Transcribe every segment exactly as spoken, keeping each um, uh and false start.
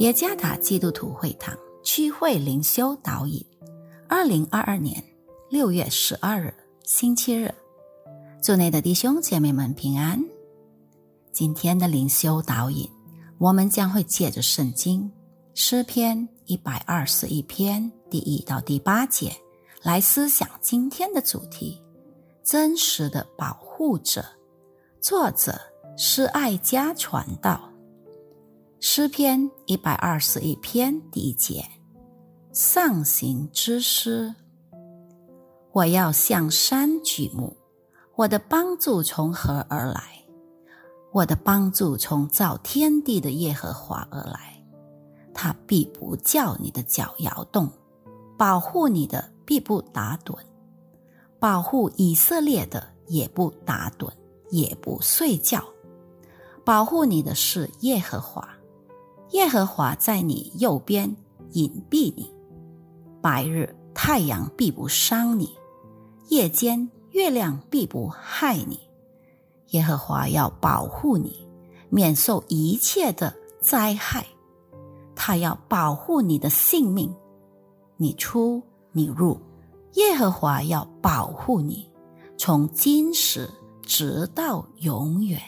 耶加达基督徒会堂区会灵修导引，二零二二年六月十二日星期日，主内的弟兄姐妹们平安。今天的灵修导引，我们将会借着圣经诗篇一百二十一篇第一到第八节来思想今天的主题：真实的保护者。作者是爱家传道。诗篇一百二十一篇第一节，上行之诗。我要向山举目，我的帮助从何而来？我的帮助从造天地的耶和华而来。他必不叫你的脚摇动，保护你的必不打盹，保护以色列的也不打盹，也不睡觉。保护你的是耶和华，耶和华在你右边隐蔽你。白日太阳必不伤你，夜间月亮必不害你。耶和华要保护你，免受一切的灾害。他要保护你的性命，你出你入，耶和华要保护你，从今时直到永远。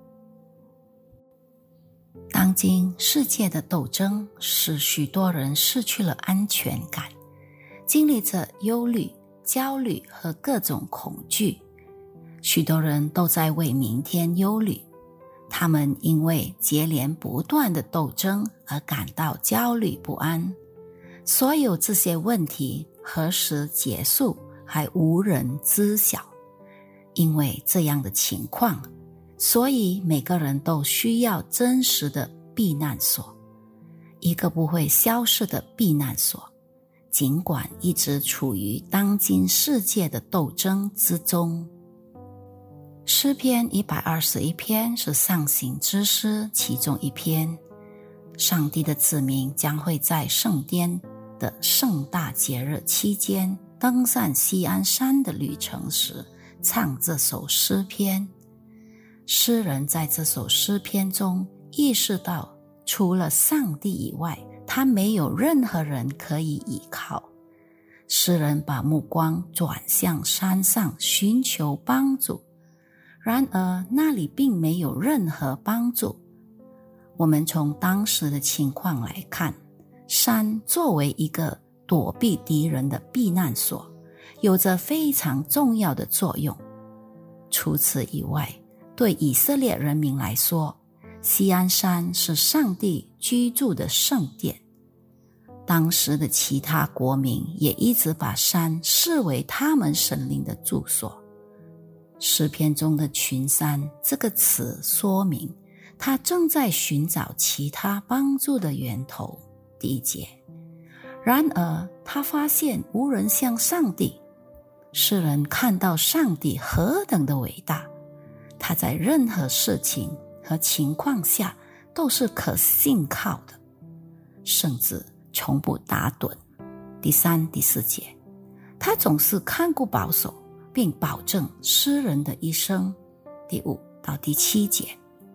当今世界的斗争使许多人失去了安全感，经历着忧虑、焦虑和各种恐惧。许多人都在为明天忧虑，他们因为接连不断的斗争而感到焦虑不安。所有这些问题何时结束还无人知晓。因为这样的情况，所以每个人都需要真实的避难所，一个不会消失的避难所。尽管一直处于当今世界的斗争之中。诗篇一百二十一篇是上行之诗其中一篇。上帝的子民将会在圣殿的盛大节日期间登上锡安山的旅程时唱这首诗篇。诗人在这首诗篇中意识到，除了上帝以外，他没有任何人可以依靠。诗人把目光转向山上寻求帮助，然而那里并没有任何帮助。我们从当时的情况来看，山作为一个躲避敌人的避难所，有着非常重要的作用。除此以外，对以色列人民来说，锡安山是上帝居住的圣殿。当时的其他国民也一直把山视为他们神灵的住所。诗篇中的群山这个词说明，他正在寻找其他帮助的源头。第一节，然而他发现无人像上帝。诗人看到上帝何等的伟大，他在任何事情和情况下都是可信靠的，甚至从不打盹。第三、第四节，他总是看顾保守，并保证诗人的一生。第五到第七节，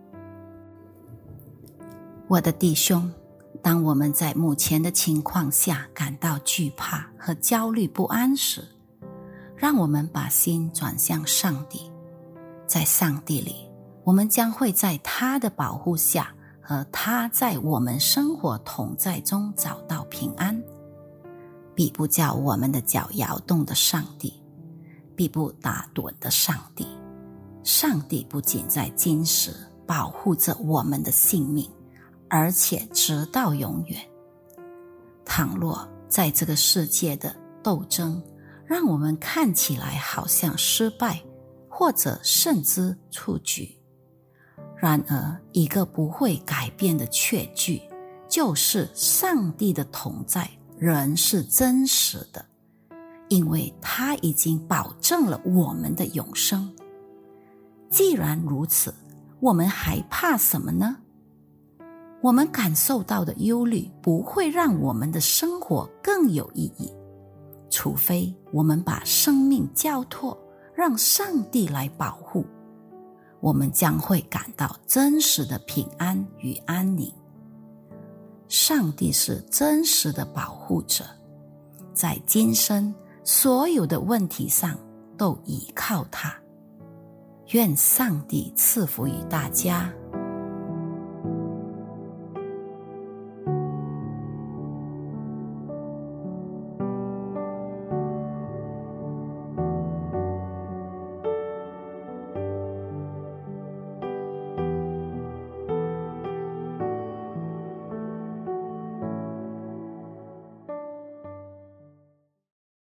我的弟兄，当我们在目前的情况下感到惧怕和焦虑不安时，让我们把心转向上帝。在上帝里，我们将会在他的保护下和他在我们生活同在中找到平安。必不叫我们的脚摇动的上帝，必不打盹的上帝。上帝不仅在今时保护着我们的性命，而且直到永远。倘若在这个世界的斗争让我们看起来好像失败，或者甚至出局，然而一个不会改变的确据，就是上帝的同在仍是真实的，因为他已经保证了我们的永生。既然如此，我们还怕什么呢？我们感受到的忧虑不会让我们的生活更有意义，除非我们把生命交托，让上帝来保护，我们将会感到真实的平安与安宁。 上帝是真实的保护者，在今生所有的问题上都倚靠他。愿上帝赐福于大家。